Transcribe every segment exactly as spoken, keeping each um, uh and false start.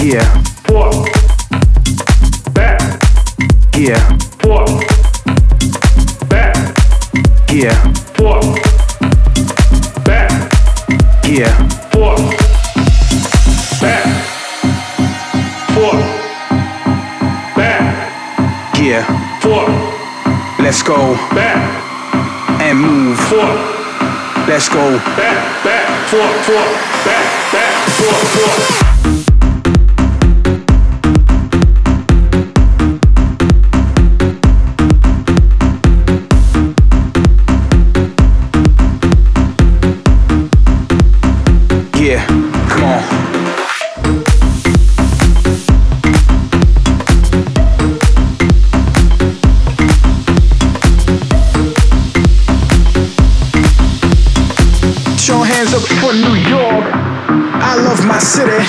Yeah. Forth. Back. Yeah. Forth. Back. Yeah. Forth. Back. Yeah. Forth. Back. Forth. Back. Yeah. Forth. Let's go Back. and move. Forth. Let's go. Back. Back. Forth. Forth. Back. Back. Forth. Forth. Yeah, come on. Put your hands up for New York. I love my city.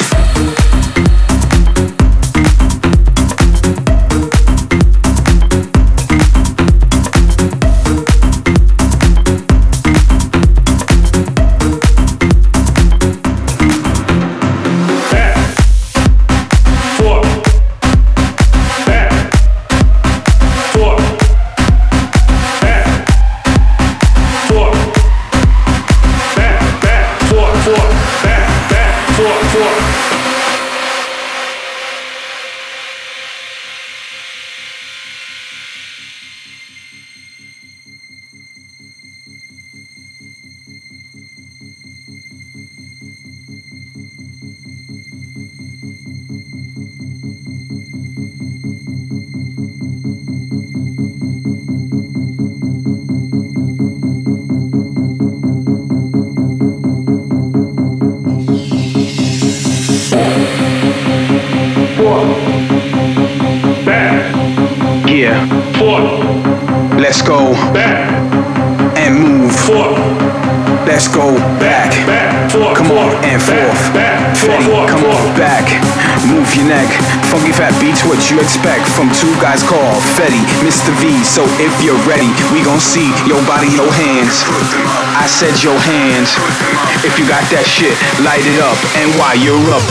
Yeah. Forth. Let's go Back. and move. Forth. Let's go back. Back. Forth. Come on Forth. and forth. Back. Fetty, Forth. come Forth. on back. Move your neck. Funky fat beats what you expect from two guys called Fetty, Mister V. So if you're ready, we gon' see your body, your hands. I said your hands. If you got that shit, light it up. And while you're up,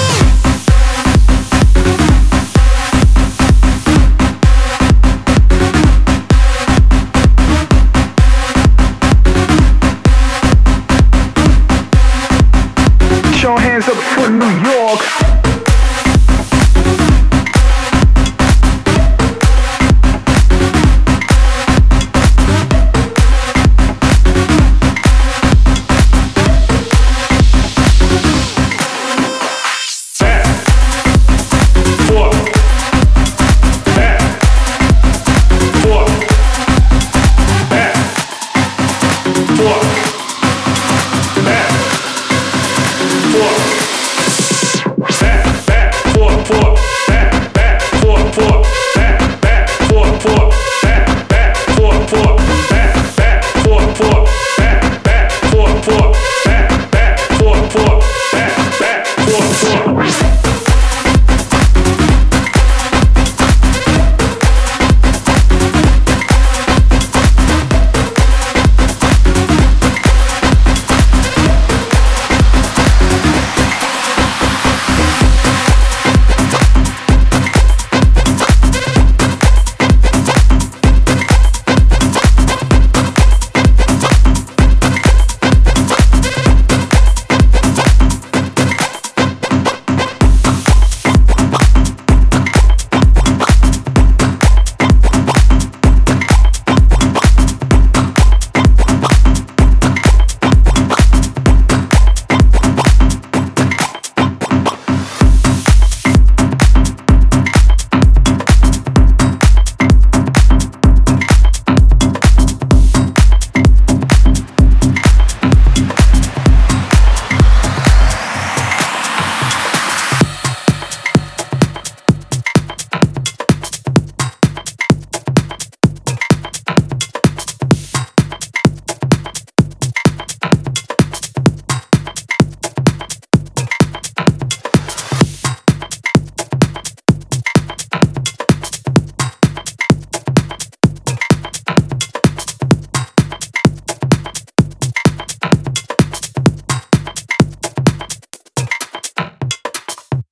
put your hands up for New York.